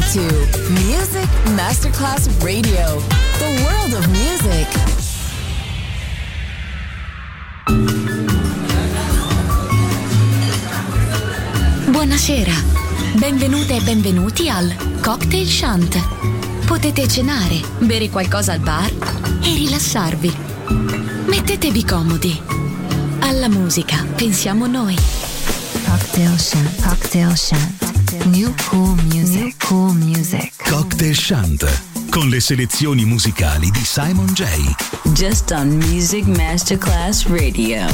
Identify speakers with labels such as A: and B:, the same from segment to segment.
A: to Music Masterclass Radio, the world of music.
B: Buonasera, benvenute e benvenuti al Cocktail Shant. Potete cenare, bere qualcosa al bar e rilassarvi. Mettetevi comodi. Alla musica pensiamo noi.
C: Cocktail Shant, Cocktail Shant. New cool music, new cool music.
D: Cocktail Shant, con le selezioni musicali di Simon J.
E: Just on Music Masterclass Radio.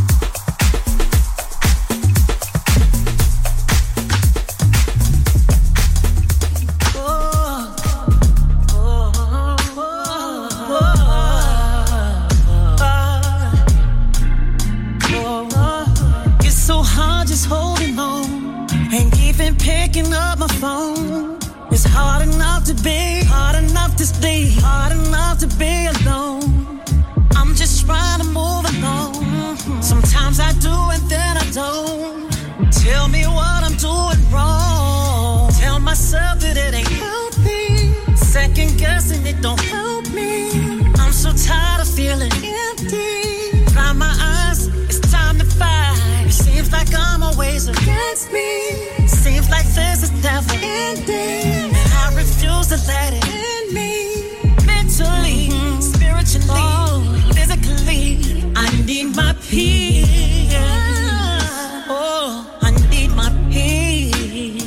F: Picking up my phone. It's hard enough to be, hard enough to stay, hard enough to be alone. I'm just trying to move along. Sometimes I do and then I don't. Tell me what I'm doing wrong. Tell myself that it ain't healthy. Second guessing it don't help me. I'm so tired of feeling empty. Dry my eyes, it's time to fight. It seems like I'm always against me. Seems like this is never ending, and I refuse to let it end me. Mentally, spiritually, physically, I need my peace. Oh, I need my peace.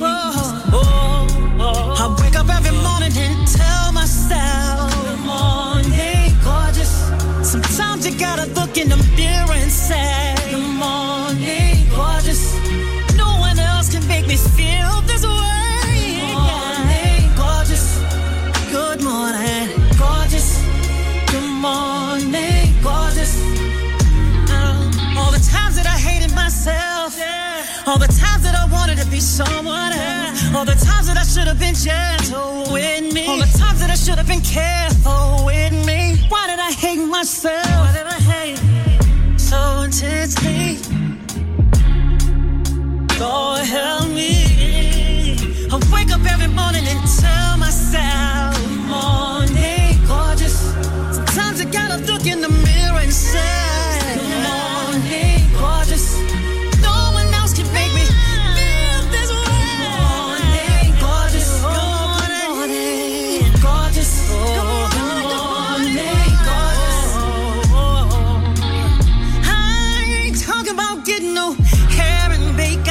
F: I wake up every morning and tell myself, good morning, gorgeous. Sometimes you gotta look in the mirror and say, good morning, gorgeous. No one else can make me feel this way. Good morning, gorgeous. Good morning, gorgeous. Good morning, gorgeous. All the times that I hated myself, all the times that I wanted to be someone else, all the times that I should have been gentle with me, all the times that I should have been careful with me. Why did I hate myself? Why did I hate so intensely? Lord help me. I wake up every morning and tell myself, good morning, gorgeous. Sometimes I gotta look in the mirror and say, good morning, gorgeous. No one else can make me feel this way. Good morning, gorgeous. Good morning, gorgeous. Good morning, gorgeous. I ain't talking about getting no hair and makeup.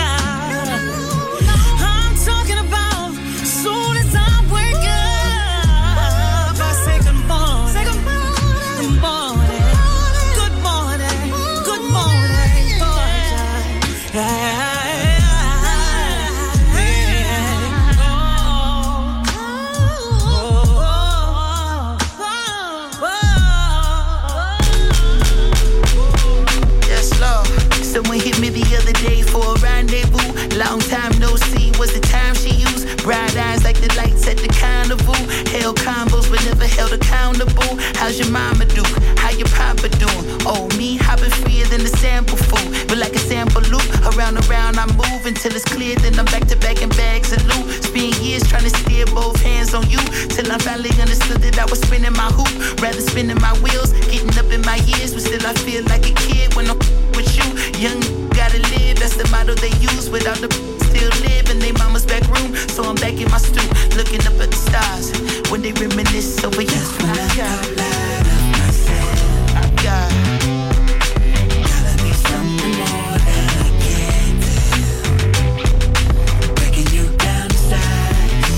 G: Someone hit me the other day for a rendezvous. Long time no see was the time she used. Bright eyes like the lights at the carnival. Held combos but never held accountable. How's your mama do? How your papa doing? Oh, me hopping freer than the sample food. But like a sample loop, around and around I move until it's clear. Then I'm back to back in bags of loot. Spend years trying to steer both hands on you, till I finally understood that I was spinning my hoop. Rather spinning my wheels, getting up in my years. But still I feel like a kid when I'm with you. Young gotta live, that's the motto they use. Without the still live in their mama's back room. So I'm back in my stoop, looking up at the stars when they reminisce over you. That's when I got light of myself. I got gotta be something more than I can do. Breaking you down to size.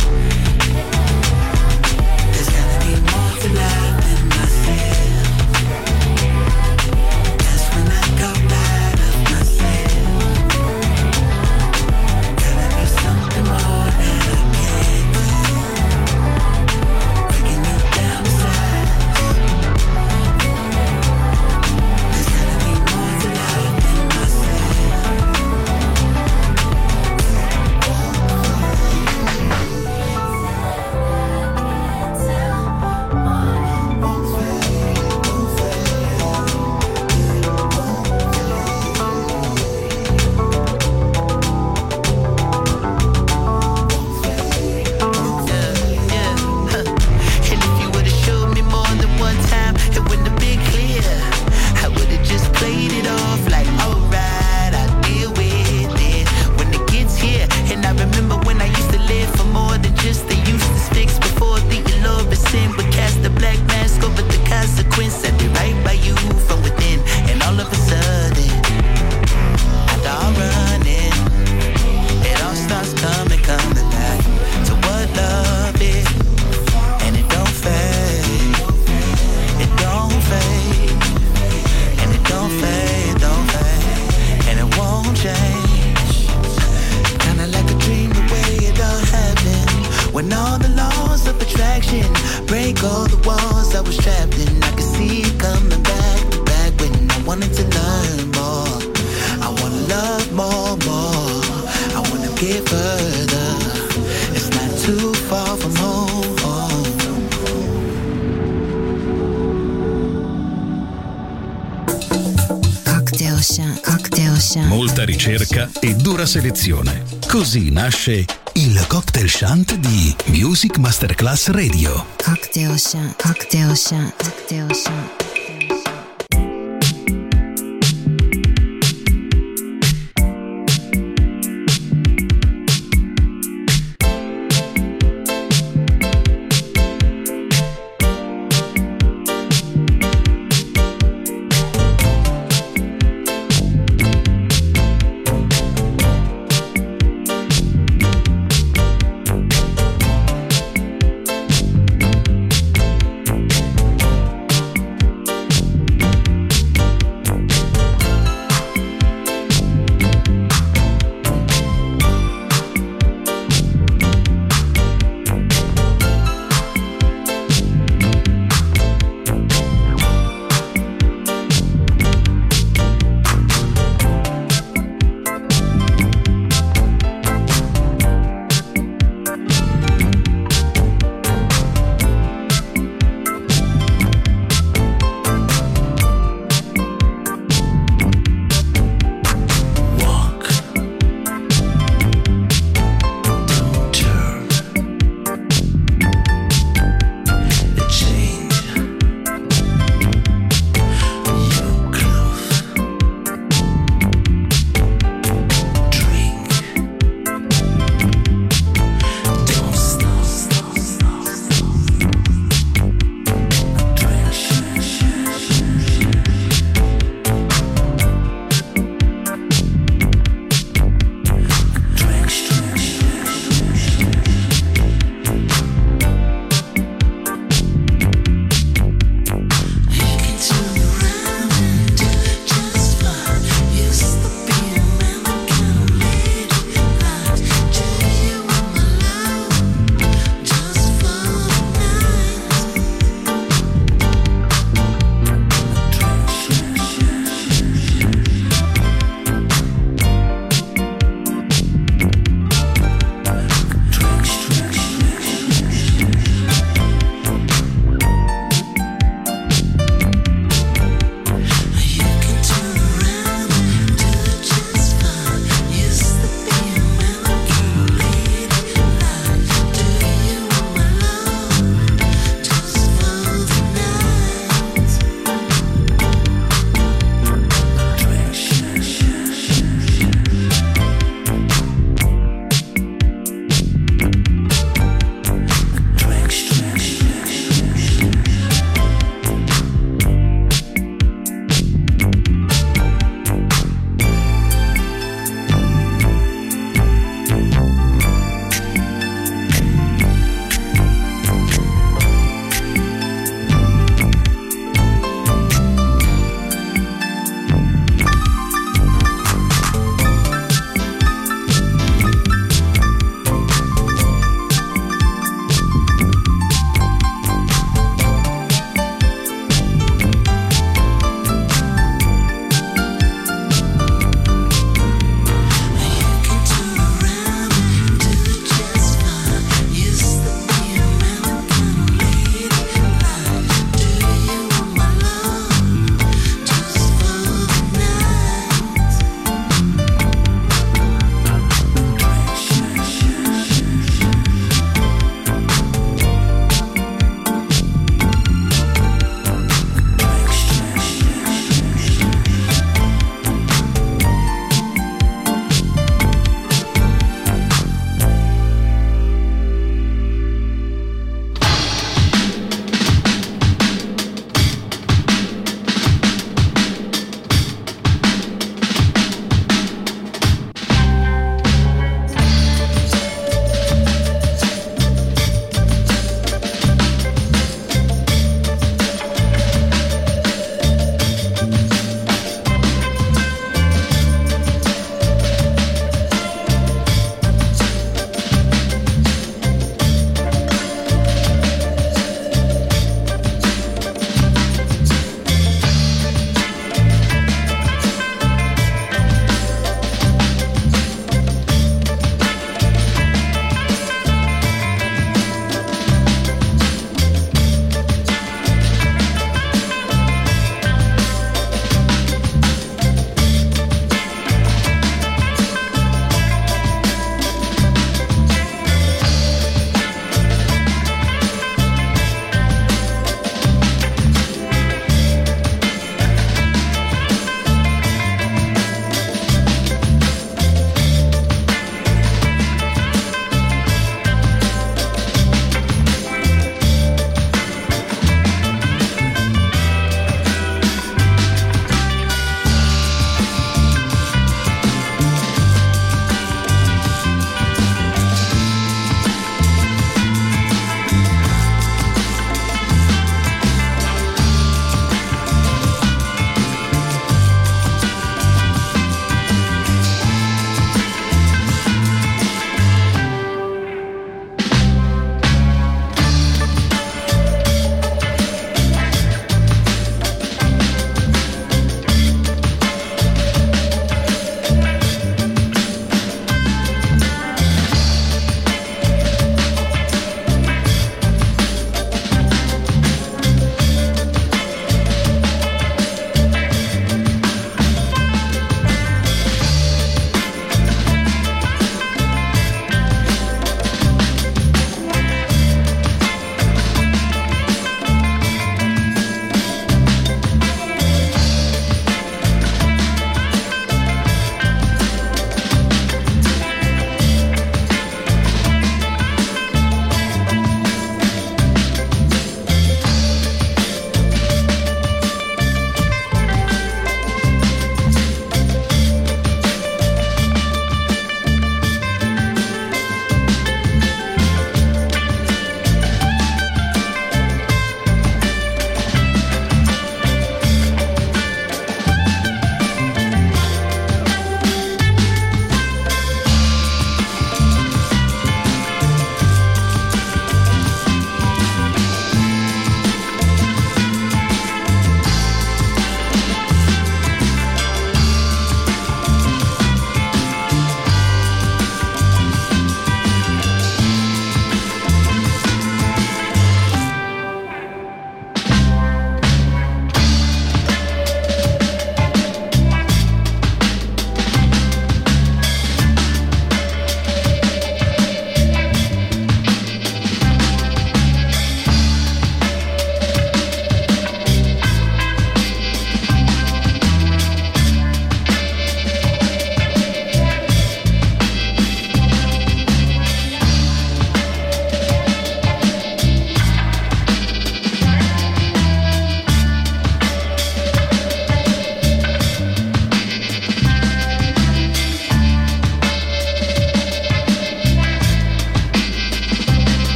G: There's gotta be more to life than myself. That's when I go light of myself. Gotta be something more than I can do. lost, coming back to what love is. And it don't fade, it don't fade, and it don't fade, and it won't change. Kinda like a dream, the way it all happened. When all the laws of attraction break all the walls I was trapped in, I can see it coming back when I wanted to learn more. I wanna love more. I wanna get further. It's not too far from home.
C: Cocktail Shant.
D: Molta ricerca e dura selezione. Così nasce il Cocktail Shant di Music Masterclass Radio.
C: Cocktail Shant.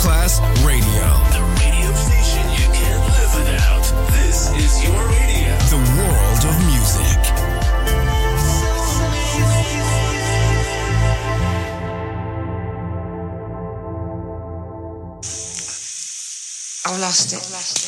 H: Masterclass Radio.
I: The radio station you can't live without. This is your radio.
H: The world of music.
J: I've lost it.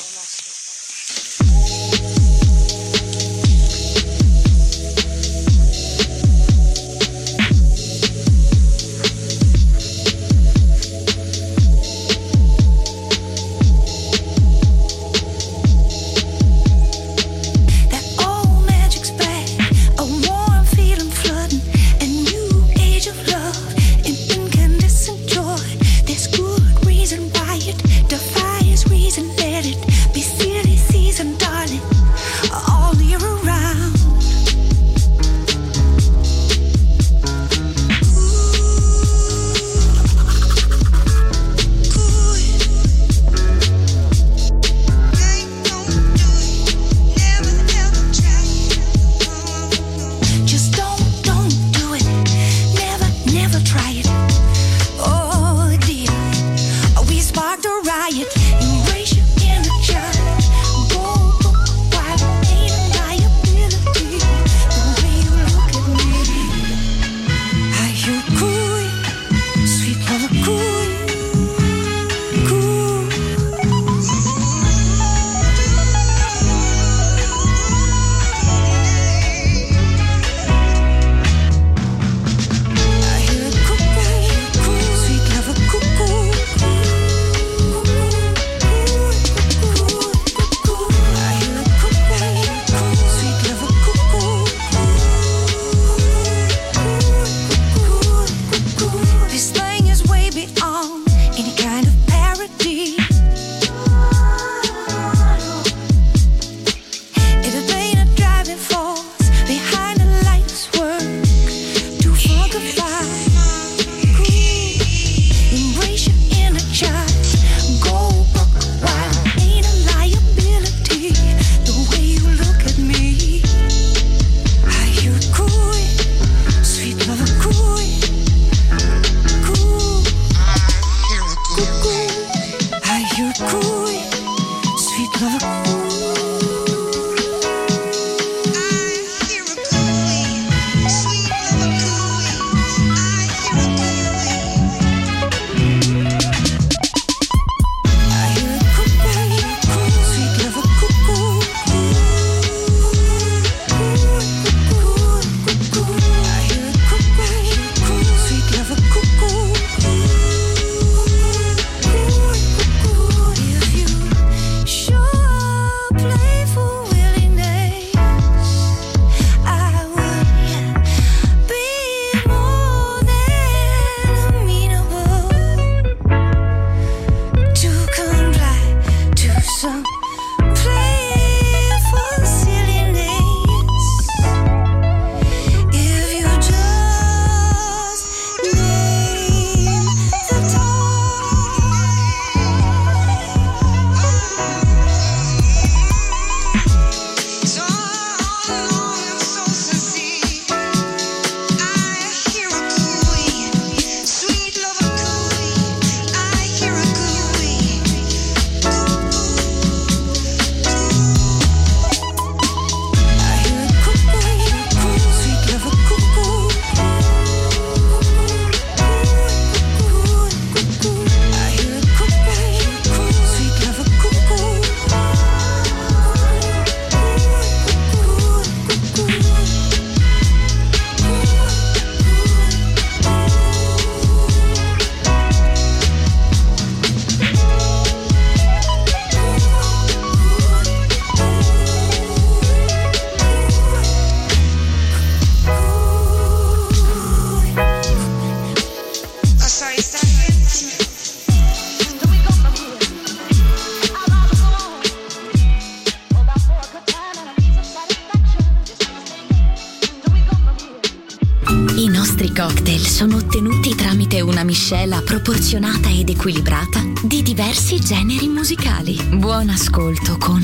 B: cocktail sono ottenuti tramite una miscela proporzionata ed equilibrata di diversi generi musicali. Buon ascolto con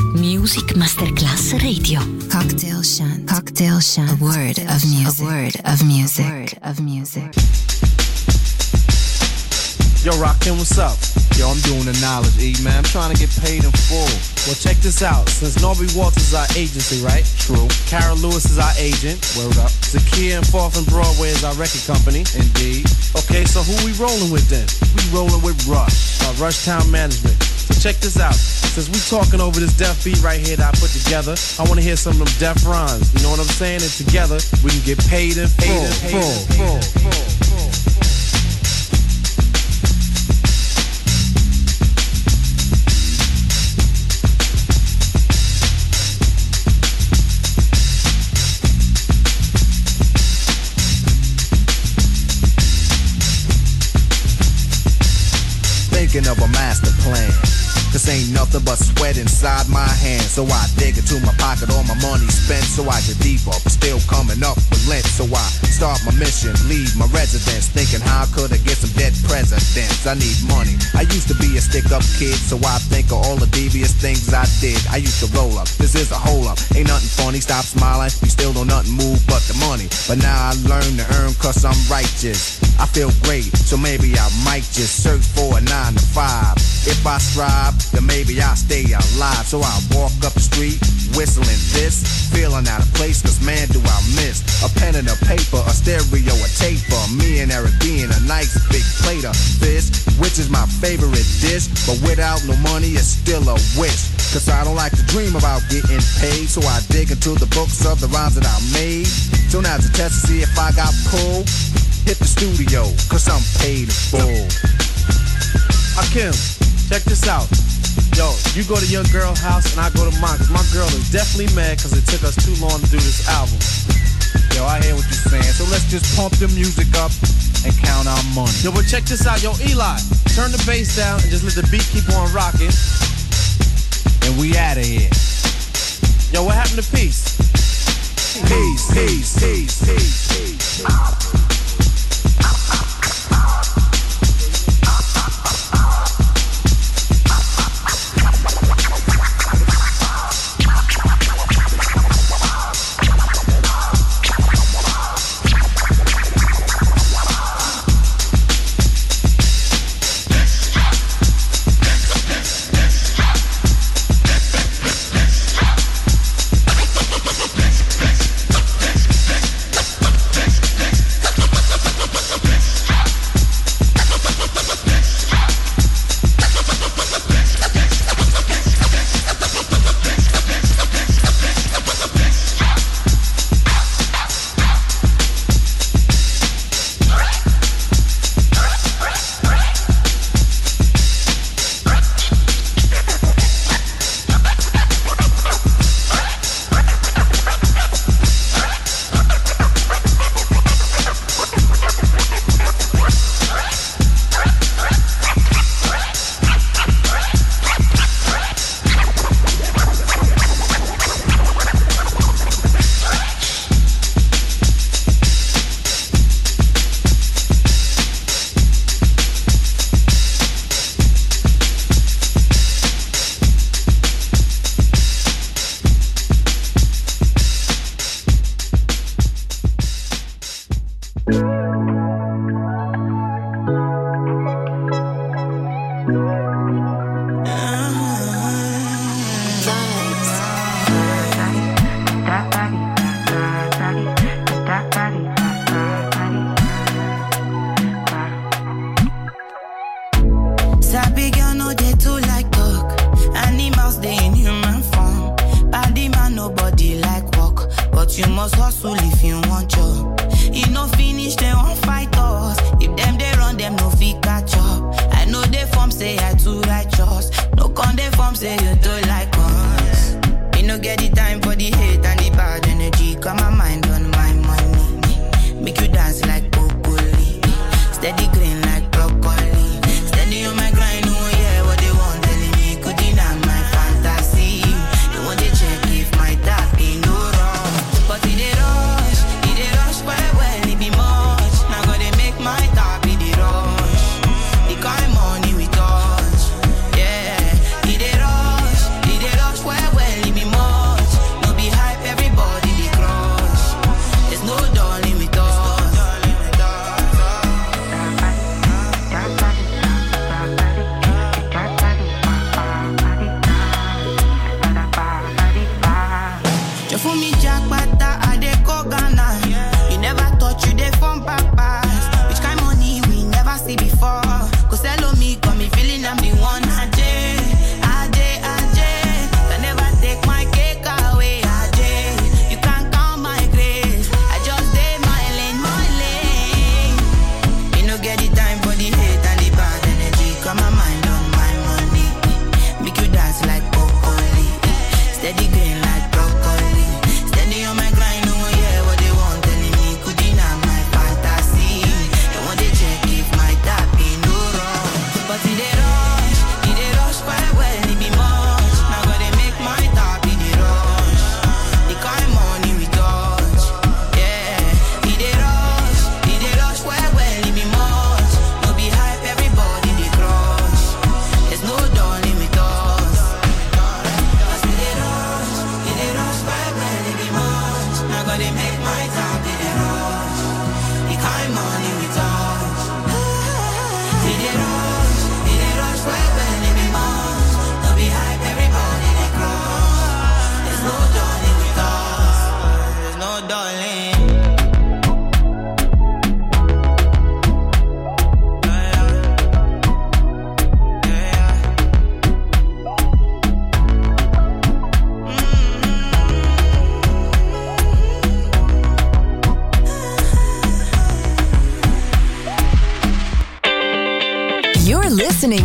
B: Music Masterclass Radio.
C: Cocktail Shant. Cocktail Shant. A word of music. A word of music. A word of music.
K: Yo, Rockin', what's up? Yo, I'm doing the knowledge, E, man. I'm trying to get paid in full.
L: Well, check this out. Since Norby Walters is our agency, right?
K: True.
L: Kara Lewis is our agent.
K: Word up.
L: Zakia and 4th and Broadway is our record company.
K: Indeed.
L: Okay, so who we rolling with then?
K: We rolling with Rush.
L: Rush Town Management. So check this out. Since we talking over this deaf beat right here that I put together, I want to hear some of them deaf rhymes. You know what I'm saying? And together, we can get paid in full.
K: Thinking of a master plan. This ain't nothing but sweat inside my hands. So I dig into my pocket, all my money spent. So I get deeper, but still coming up with lint. So I start my mission, leave my residence. Thinking how could I get some dead presidents? I need money. I used to be a stick-up kid, so I think of all the devious things I did. I used to roll up, this is a hole-up. Ain't nothing funny, stop smiling. You still don't nothing move but the money. But now I learn to earn cause I'm righteous. I feel great, so maybe I might just search for a 9 to 5. If I strive, then maybe I'll stay alive. So I walk up the street, whistling this, feeling out of place, cause man do I miss a pen and a paper, a stereo, a tape for me and Eric being a nice big plate of fish, which is my favorite dish. But without no money, it's still a wish, cause I don't like to dream about getting paid. So I dig into the books of the rhymes that I made. So now to test to see if I got pulled, hit the studio, cause I'm paid in full.
L: Hakim, check this out. Yo, you go to your girl's house and I go to mine, cause my girl is definitely mad cause it took us too long to do this album.
K: Yo, I hear what you're saying, so let's just pump the music up and count our money.
L: Yo, but check this out. Yo, Eli, turn the bass down and just let the beat keep on rocking.
K: And we out of here.
L: Yo, what happened to Peace? Peace.
M: Be high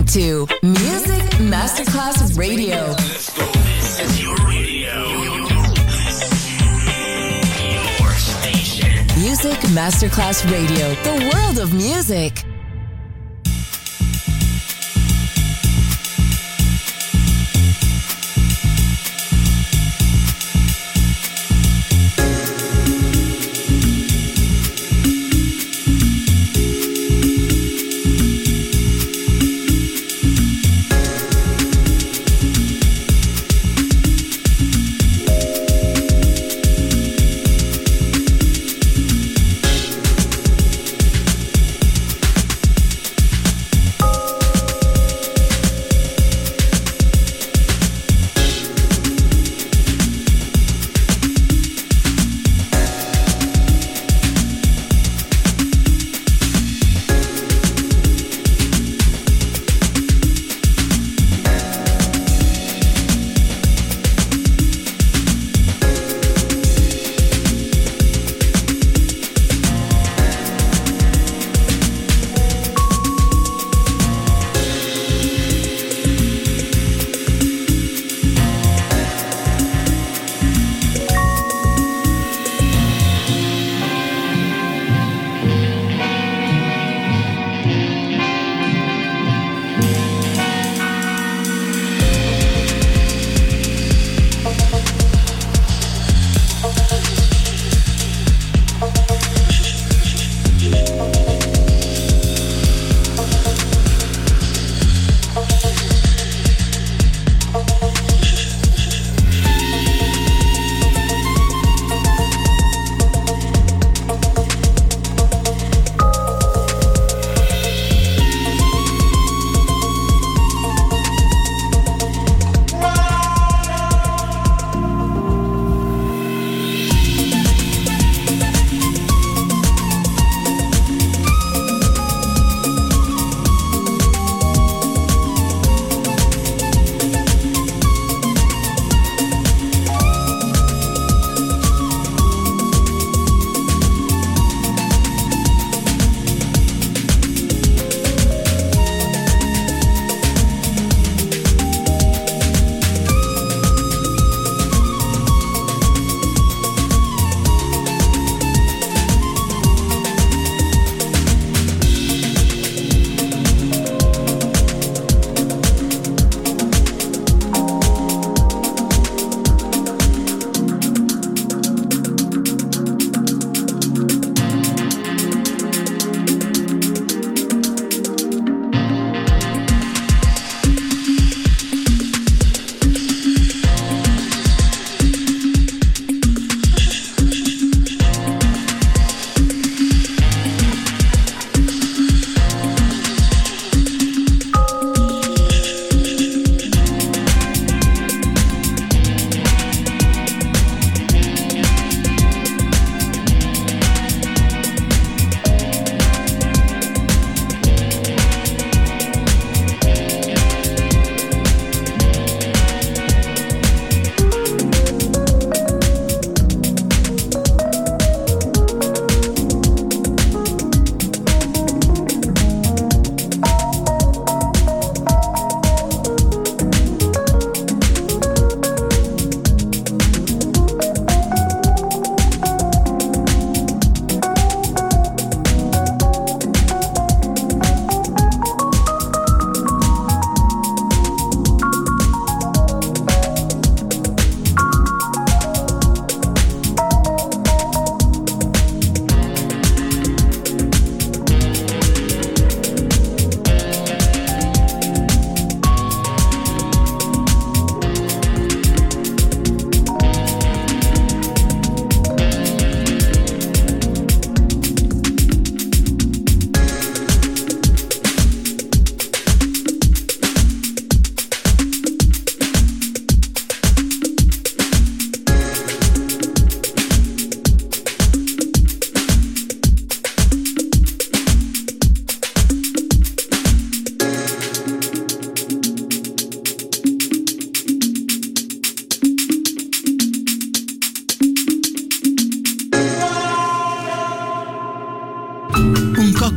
A: to Music Masterclass Radio.
I: Let's go. This is your radio. Your station.
A: Music Masterclass Radio. The world of music.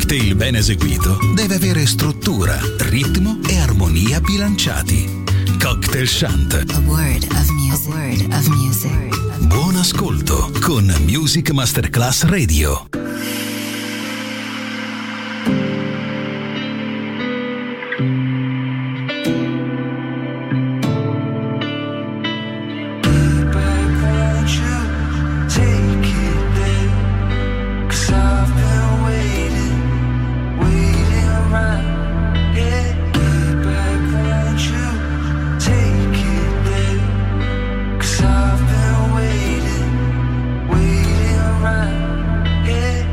D: cocktail ben eseguito deve avere struttura, ritmo e armonia bilanciati. Cocktail Shant.
C: A word of music. A word of music.
D: Buon ascolto con Music Masterclass Radio.
F: I've been waiting around, yeah.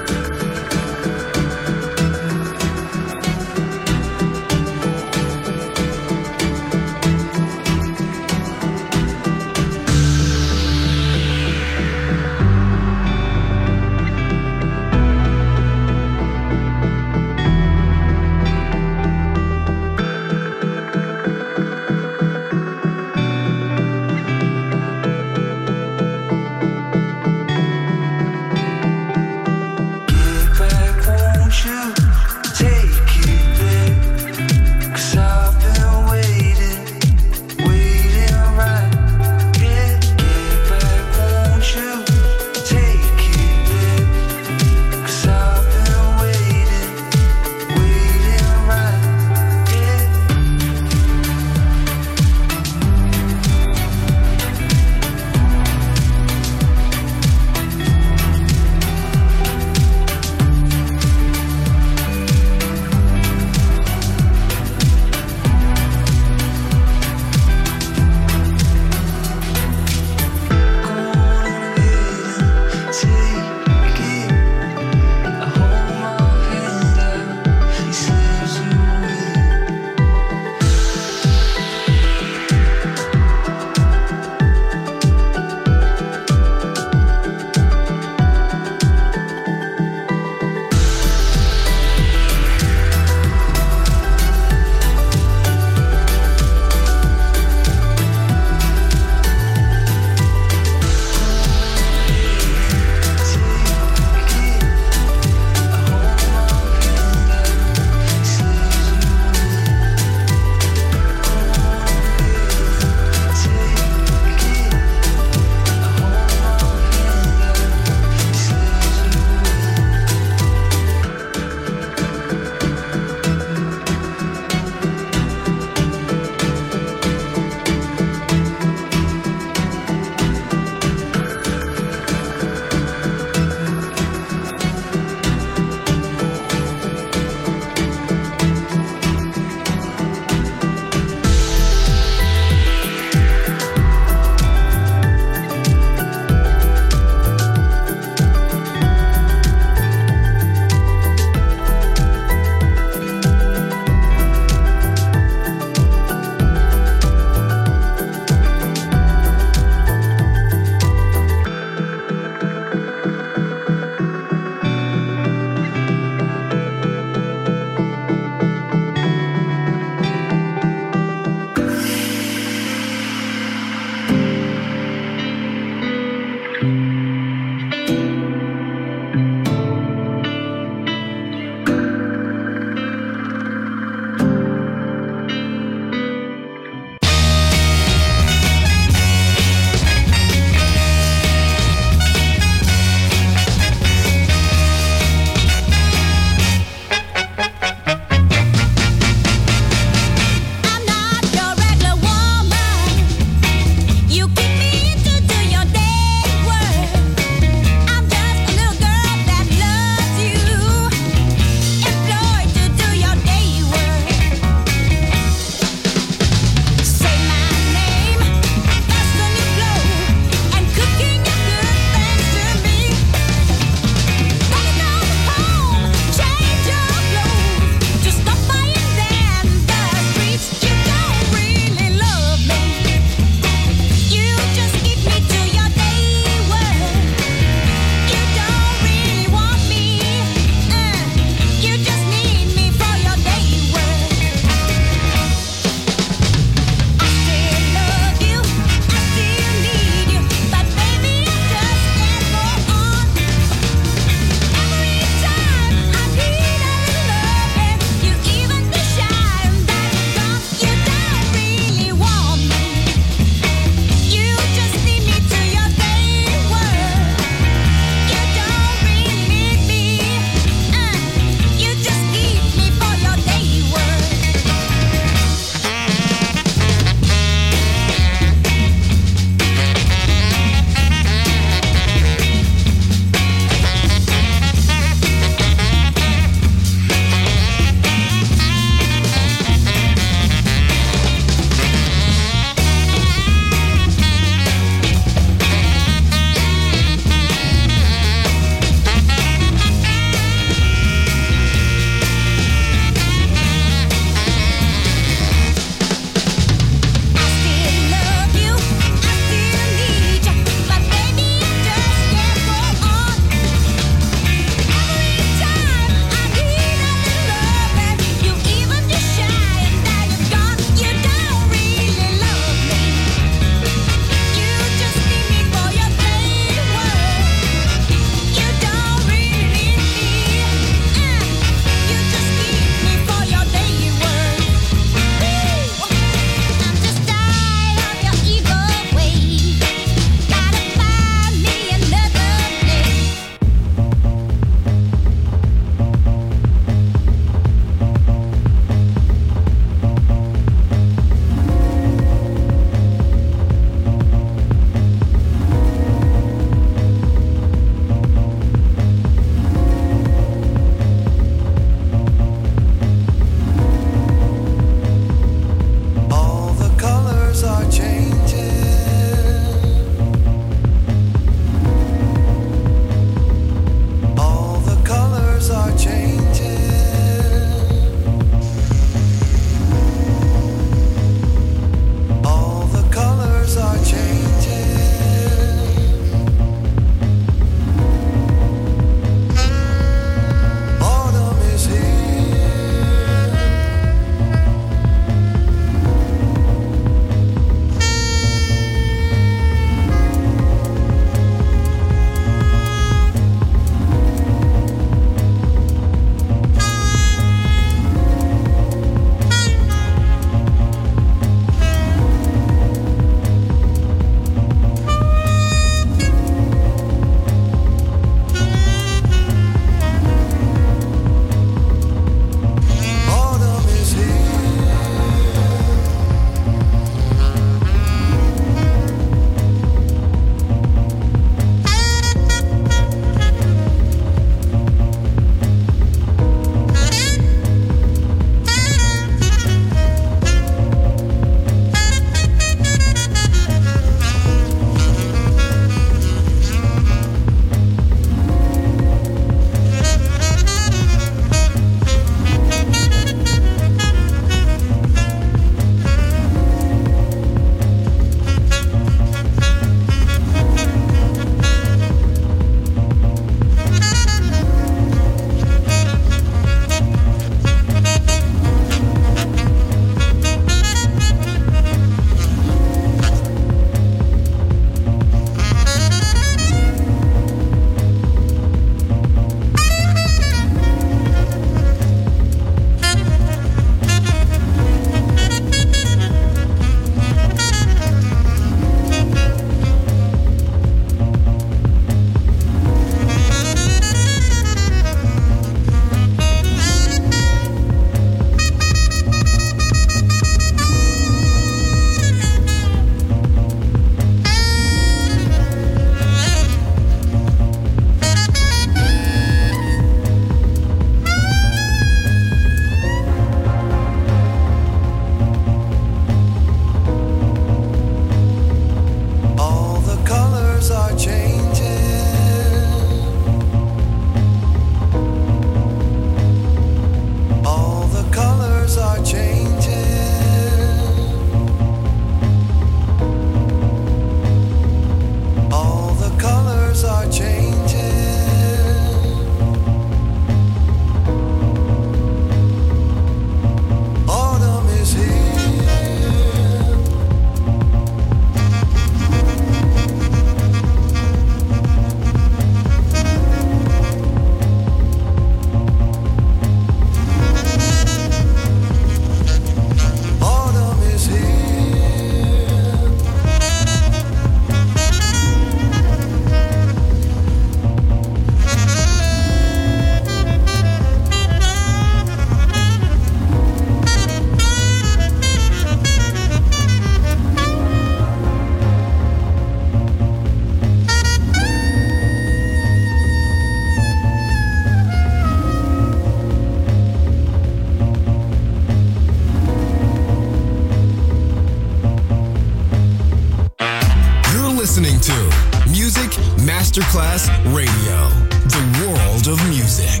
H: listening to Music Masterclass Radio, the world of music.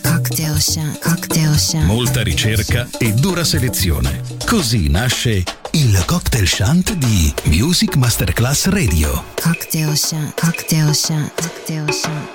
D: Molta ricerca e dura selezione. Così nasce il cocktail shant di Music Masterclass Radio.
C: Cocktail shant, cocktail shant, cocktail shant.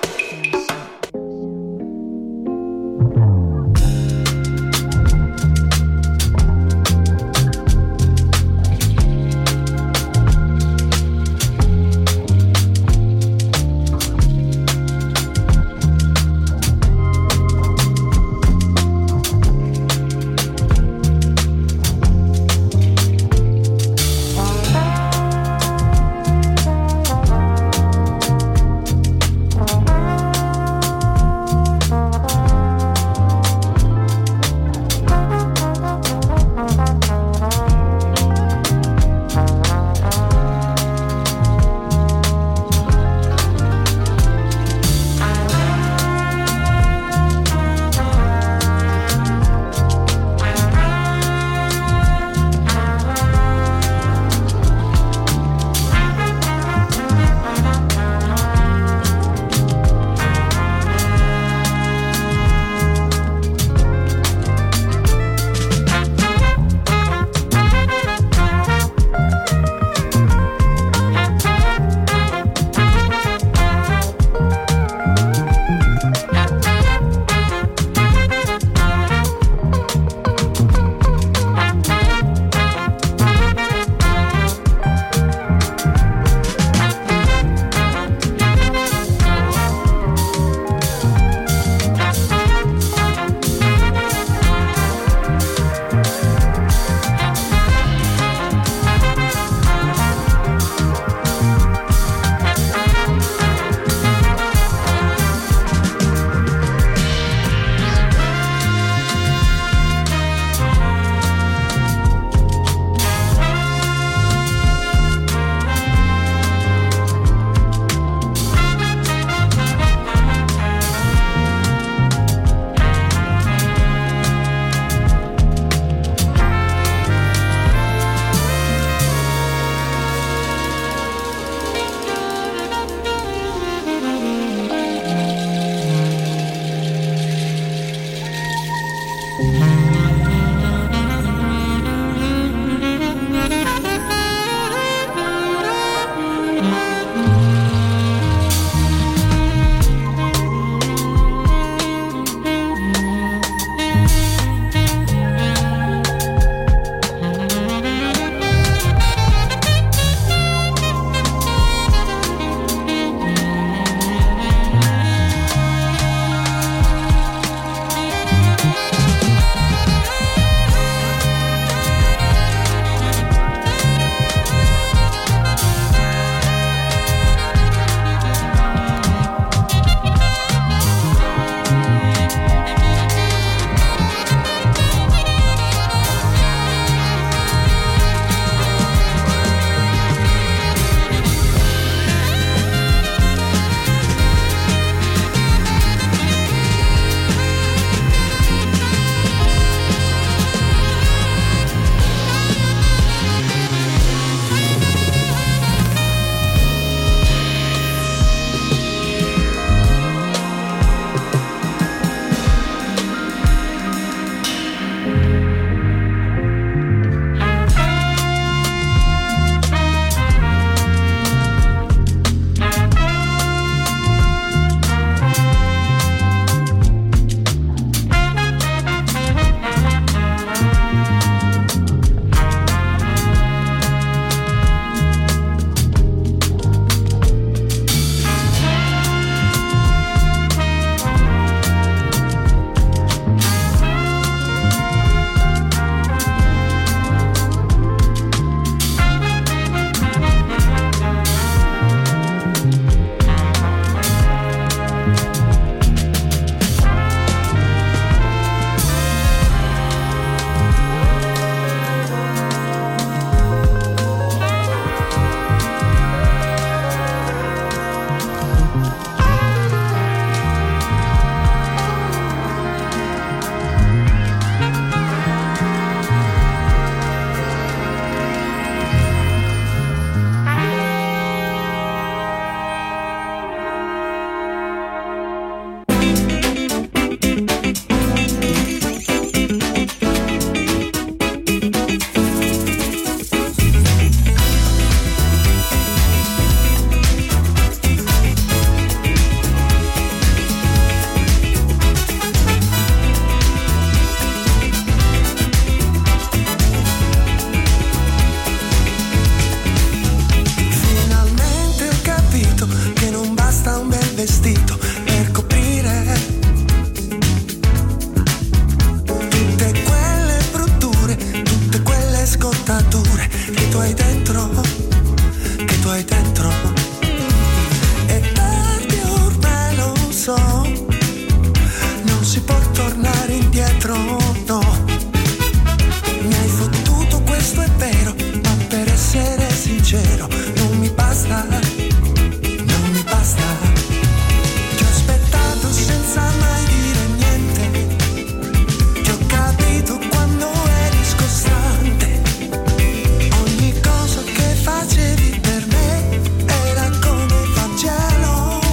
M: sincero, non mi basta, non mi basta. Ti ho aspettato senza mai dire niente, ti ho capito quando eri scostante. Ogni cosa che facevi per me era come Vangelo.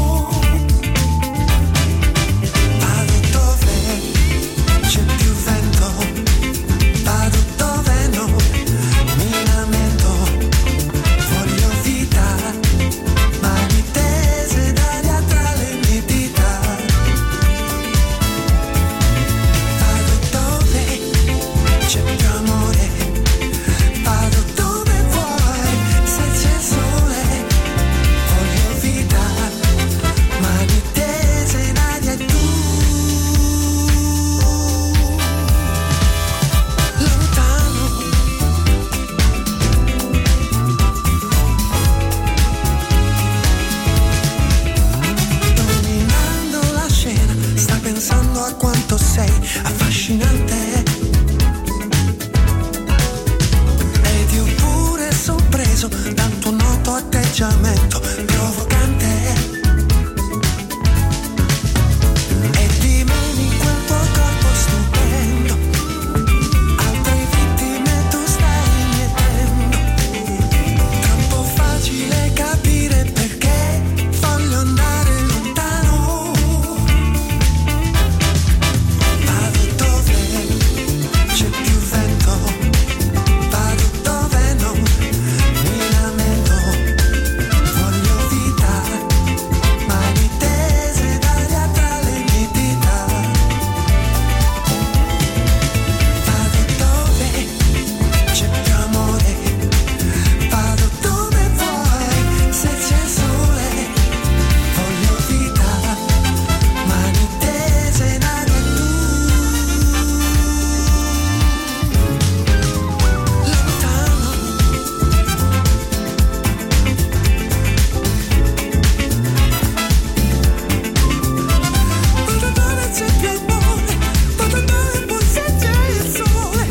M: Vado dove c'è più vento, vado dove non mi lamento. Voglio vita, mani tese d'aria tra le mie dita. Vado dove c'è più amore, vado dove vuoi, se c'è sole. Voglio vita, mani tese in aria e tu. Lontano, dominando la scena, sta pensando a quanto sei affascinante. Ed io pure sorpreso dal tuo noto atteggiamento provocante. E dimeni quel tuo corpo stupendo, altre vittime tu stai mietendo. Troppo facile capire perché voglio andare lontano. Vado dove c'è più vento, vado dove non mi lamento. Voglio vita, mani tese d'aria tra le mie dita. Vado dove c'è più amore, vado dove vuoi, se c'è sole. Voglio vita, mani tese in aria e tu. Lontano, vado dove c'è più amore, vado dove vuoi, se c'è il sole.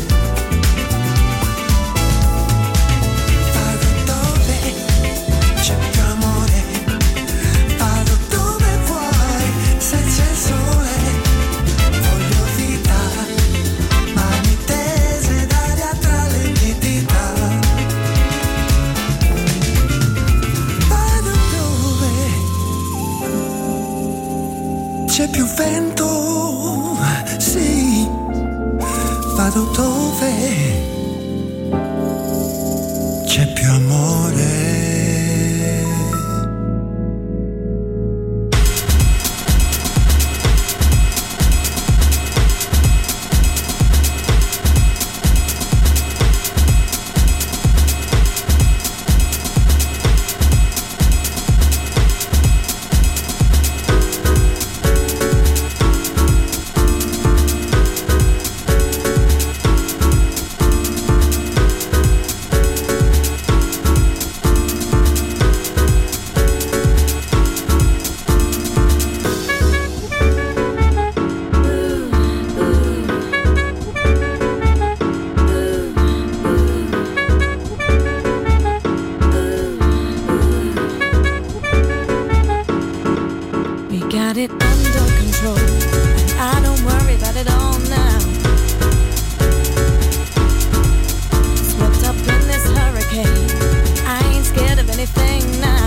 M: Vado dove c'è più amore, vado dove vuoi, se c'è sole. Voglio vita, mani tese d'aria tra le mie dita. Vado dove c'è più vento, sì, vado dove c'è più amore.
F: We got it under control, and I don't worry about it all now. Swept up in this hurricane, I ain't scared of anything now.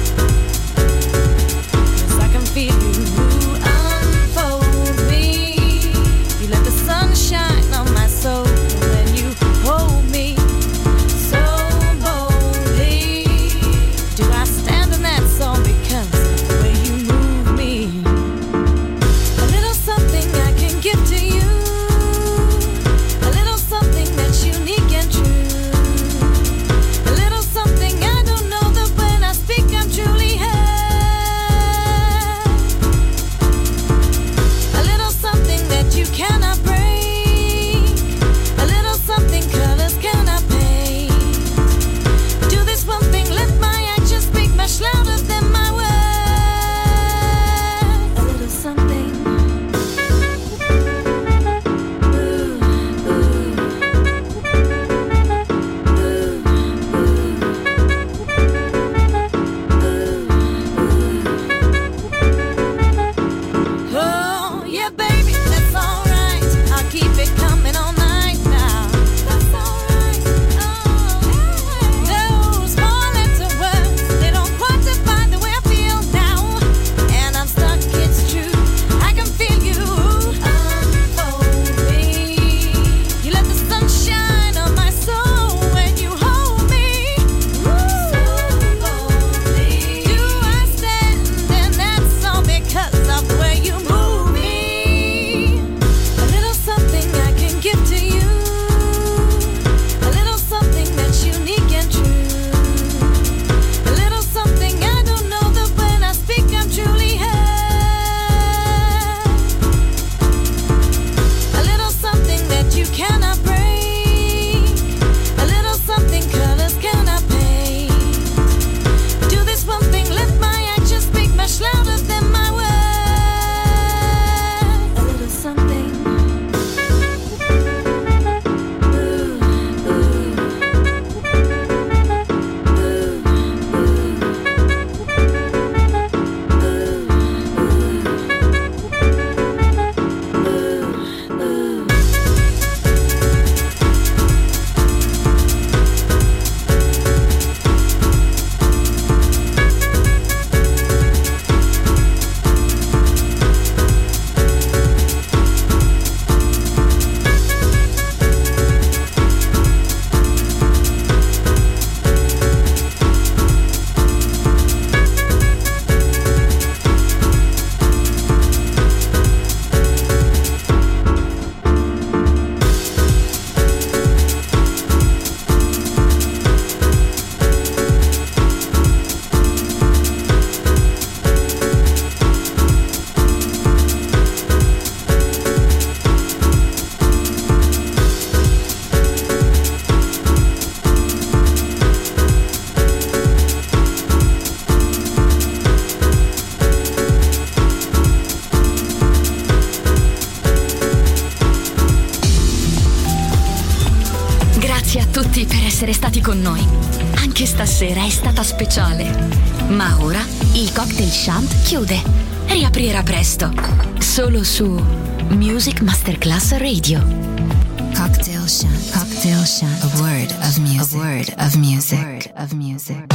F: 'Cause I can feel you unfold me. You let the sun shine on my soul when you hold me so boldly. Do I stand in that song because of the way you move me? A little something I can give to you.
B: tutti per essere stati con noi. Anche stasera è stata speciale. Ma ora il Cocktail Shant chiude. Riaprirà presto. Solo su Music Masterclass Radio.
C: Cocktail Shant. Cocktail Shant. A word of music. A word of music.